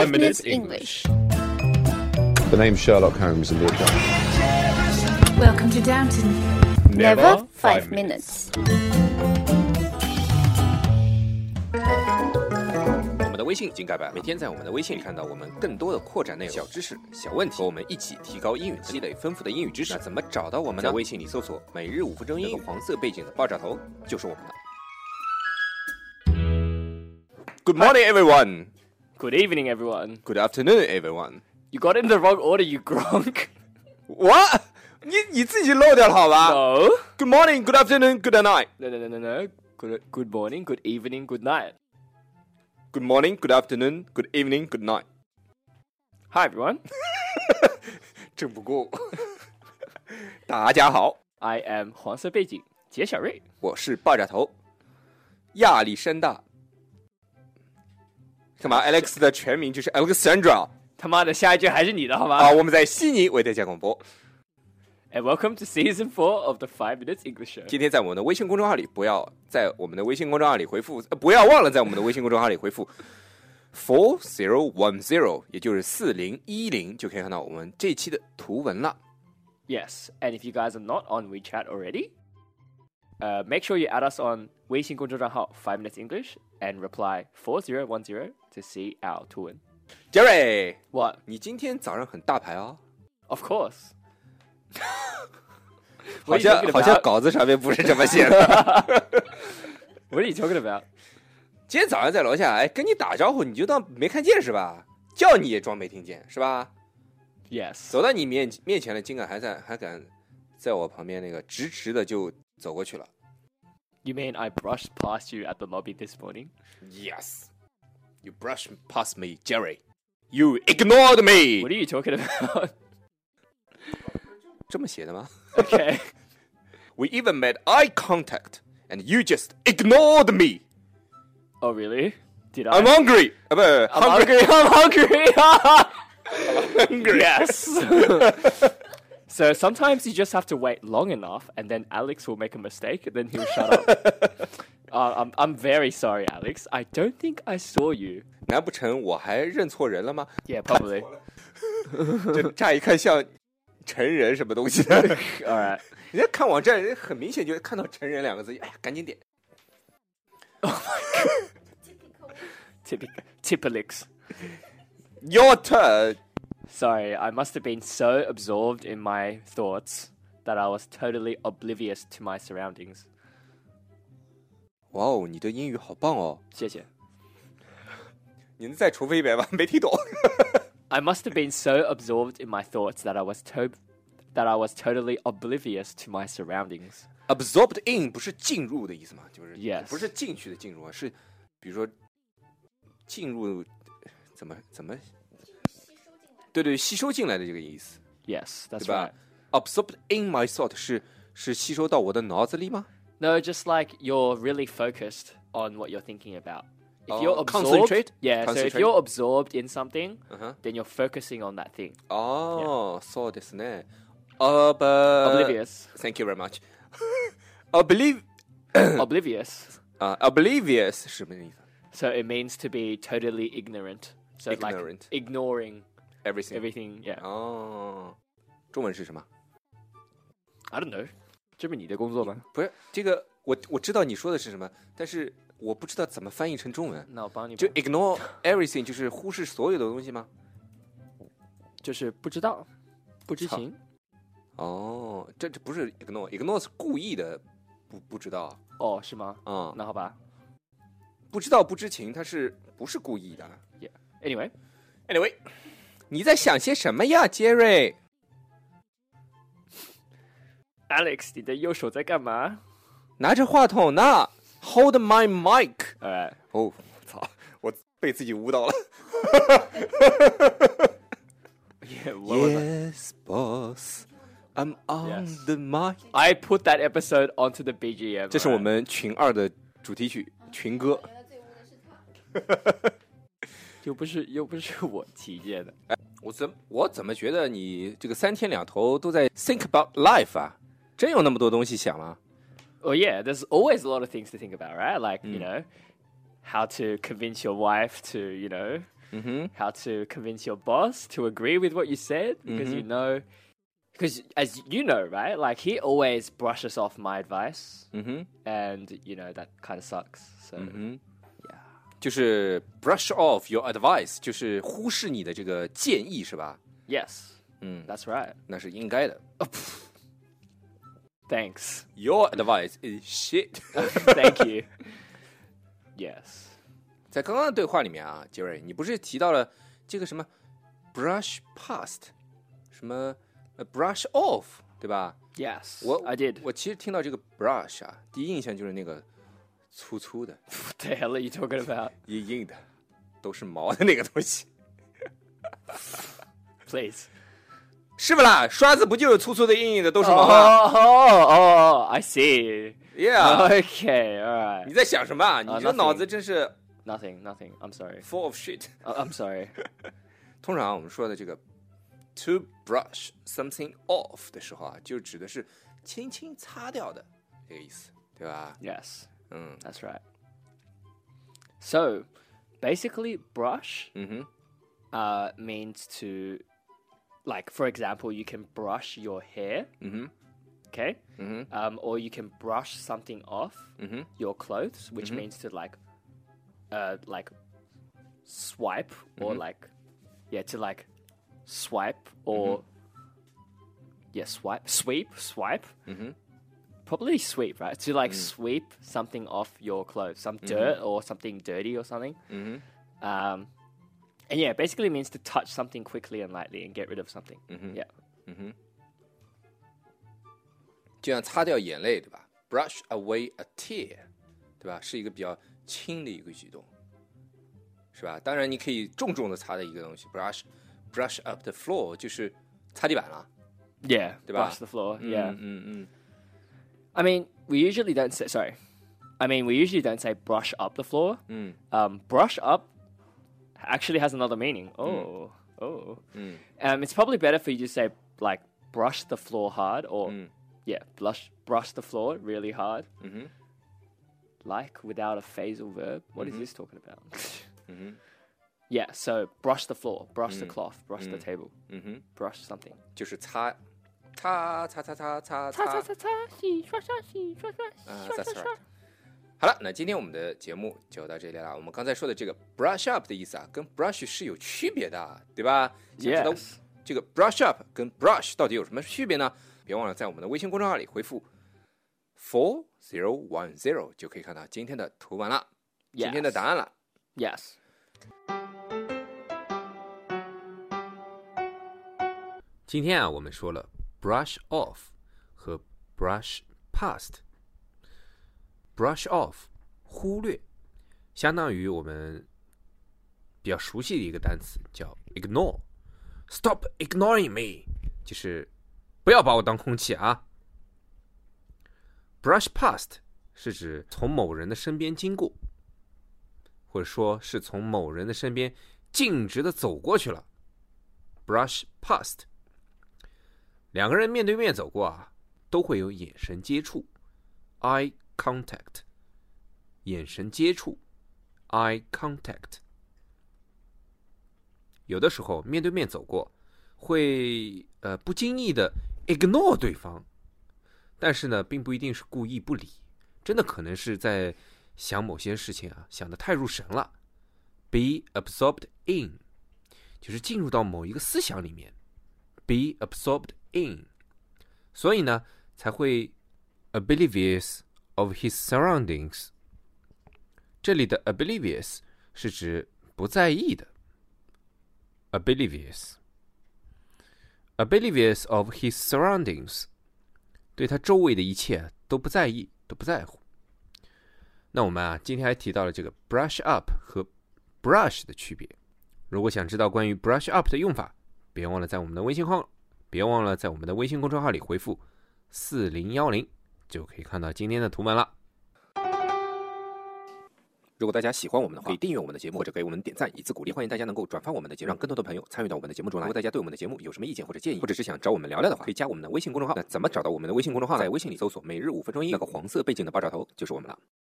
5 Minutes English. The name's Sherlock Holmes in the account. Welcome to Downton. Never 5 minutes. 我们的微信已经改版，每天在我们的微信里看到我们更多的扩展内容、小知识、小问题，和我们一起提高英语，积累丰富的英语知识。那怎么找到我们呢？在微信里搜索"每日5分钟英语"，黄色背景的爆炸头就是我们的。Good morning, everyone. Good evening, everyone. Good afternoon, everyone. You got it in the wrong order, you gronk. What? 你自己漏掉了好吧 No. Good morning, good afternoon, good night. No. Good morning, good evening, good night. Good morning, good afternoon, good evening, good night. Hi, everyone. 正不过。大家好， I am 黄色背景杰小瑞。 我是爆炸头亚历山大。干嘛 ？Alex 的全名就是 Alexandra。 他妈的，下一句还是你的好吗？ 好，我们在悉尼为大家广播。 And welcome to season 4 of the 5 Minutes English Show. 今天在我们的微信公众号里，不要在我们的微信公众号里回复，不要忘了在我们的微信公众号里回复 4010，也就是4010，就可以看到我们这期的图文了。 Yes, and if you guys are not on WeChat already, make sure you add us on 微信公众账号5 Minutes English and reply 4010 to see our 图文。 Jerry， What? 你今天早上很大牌哦。 Of course. 好像稿子上面不是这么写的。 What are you talking about? 今天早上在楼下，跟你打招呼，你就当没看见是吧？叫你也装没听见是吧？ Yes. 走到你面前了，竟然还敢在我旁边那个直直的就走过去了。 You mean I brushed past you at the lobby this morning? Yes, you brushed past me, Jerry. You ignored me. What are you talking about? 这么写的吗 Okay. We even made eye contact, and you just ignored me. Oh, really? Did I? I'm hungry. I'm hungry. Yes. So sometimes you just have to wait long enough, and then Alex will make a mistake, and then he'll shut up. I'm very sorry, Alex. I don't think I saw you. 难不成我还认错人了吗？ Yeah, probably. 这乍一看像成人什么东西的。 All right. 人家看网站，人很明显就看到成人两个字，哎呀，赶紧点。 Typicals. Your turn. Sorry, I must have been so absorbed in my thoughts that I was totally oblivious to my surroundings. 哇哦，你的英语好棒哦！ 谢谢。 你能再重复一遍吗？没听懂。 I must have been so absorbed in my thoughts that I was totally oblivious to my surroundings. Absorbed in 不是进入的意思吗？就是 Yes. 不是进去的进入啊，是比如说进入怎么对吸收进来的这个意思， Yes, that's 对吧 right. ？Absorbed in my thought 是吸收到我的脑子里吗？ No, just like you're really focused on what you're thinking about. If Oh, you're absorbed, concentrate? yeah. So if Concentrate. you're absorbed in something, 嗯哼， then you're focusing on that thing. 哦，そうですね。 Oblivious. Thank you very much. Oblivious Oblivious. 是什么意思 So it means to be totally ignorant. So Ignorant. like ignoring ？Everything. everything. Yeah. 哦，中文是什么？ I don't know. 这不是你的工作吗？ 不是这个，我知道你说的是什么，但是我不知道怎么翻译成中文。 那我帮你吧。 就 ignore everything 就是忽视所有的东西吗？ 就是不知道，不知情。 哦，这不是 ignore 是故意的，不知道。 哦，是吗？ 嗯， 那好吧。 不知道不知情，他是不是故意的 Yeah. ？Anyway， 你在想些什么呀，杰瑞？ Alex， 你的右手在干嘛拿着话筒呢 ，Hold my mic。 ？Alright. 哦，操，我被自己误导了。 Yeah, what was I? Yes, boss, I'm on Yes. the mic. I put that episode onto the BGM. 这是我们群2的主题曲群歌。 又不是我提建的。 我怎么觉得你这个3天2头都在 think about life 啊？真有那么多东西想吗？ Well, yeah, there's always a lot of things to think about, right? Like, you know, how to convince your wife to, you know, how to convince your boss to agree with what you said because you know, because as you know, right? Like he always brushes off my advice, and you know that kind of sucks. So yeah. 就是 brush off your advice， 就是忽视你的这个建议，是吧？ Yes. That's right. 那是应该的。 Thanks. Your advice is shit. Thank you. Yes. 在刚刚的对话里面啊，杰瑞，你不是提到了这个什么 brush past， 什么brush off， 对吧？ Yes. 我 I did. 我其实听到这个 brush 啊，第一印象就是那个粗粗的、 What the hell are you talking about? 硬硬的，都是毛的那个东西， Please. 是不啦？刷子不就是粗粗的、硬硬的，都是毛吗 Oh, I see. ？Yeah. Okay, all 你 right. 在想什么啊？你这 nothing 脑子真是 Nothing. I'm sorry. full of shit。 I'm sorry. 通常我们说的这个 to brush something off 的时候啊，就指的是轻轻擦掉的这个意思，对吧？ Yes. 嗯 That's right. So, basically, brush 嗯哼 means to, like, for example, you can brush your hair, 嗯哼 okay? 嗯哼 Or you can brush something off 嗯哼 your clothes, which means to like swipe or like, yeah, to like swipe or yeah, swipe. Probably sweep, right? To like sweep something off your clothes, some dirt or something dirty or something. And yeah, basically means to touch something quickly and lightly and get rid of something. Yeah. 就像擦掉眼泪，对吧 ？Brush away a tear， 对吧？是一个比较轻的一个举动，是吧？当然，你可以重重的擦的一个东西 ，brush up the floor， 就是擦地板了， Yeah, 对吧？ brush the floor. Yeah. 嗯 I mean, we usually don't say, sorry. I mean, we usually don't say brush up the floor. Brush up actually has another meaning. Oh. It's probably better for you to say, like, brush the floor hard or, yeah, brush the floor really hard. Like, without a phrasal verb. What is this talking about? Yeah, so brush the floor, brush the cloth, brush the table, brush something. 就是擦。That's right. 好了，那今天我们的节目就到这里了。我们刚才说的这个 brush up 的意思啊，跟 brush 是有区别的，对吧？想知道 Yes. 这个 brush up 跟 brush 到底有什么区别呢？别忘了在我们的微信公众号里回复 4010就可以看到今天的图文了， Yes. 今天的答案了。 Yes. 今天啊，我们说了 brush off 和 brush past。brush off 忽略，相当于我们比较熟悉的一个单词叫 ignore。Stop ignoring me， 就是不要把我当空气啊。brush past 是指从某人的身边经过，或者说是从某人的身边径直的走过去了。brush past。两个人面对面走过啊，都会有眼神接触 eye contact， 眼神接触 eye contact。 有的时候面对面走过会不经意的 ignore 对方，但是呢并不一定是故意不理，真的可能是在想某些事情啊，想得太入神了。 be absorbed in 就是进入到某一个思想里面， be absorbed in， 所以呢才会 oblivious of his surroundings。 这里的 oblivious 是指不在意的， oblivious of his surroundings， 对他周围的一切都不在意，都不在乎。那我们啊今天还提到了这个 brush up 和 brush 的区别。如果想知道关于 brush up 的用法，别忘了在我们的微信公众号里回复4010，就可以看到今天的图文了。如果大家喜欢我们的话，可以订阅我们的节目，或者给我们点赞以资鼓励。欢迎大家能够转发我们的节目，让更多的朋友参与到我们的节目中来。如果大家对我们的节目有什么意见或者建议，或者是想找我们聊聊的话，可以加我们的微信公众号。那怎么找到我们的微信公众号？在微信里搜索每日5分钟英语，那个黄色背景的爆炸头就是我们了。